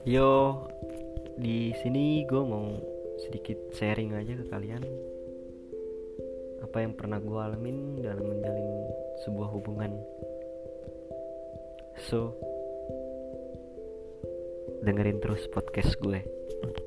Yo, di sini gue mau sedikit sharing aja ke kalian apa yang pernah gue alamin dalam menjalin sebuah hubungan. So, dengerin terus podcast gue.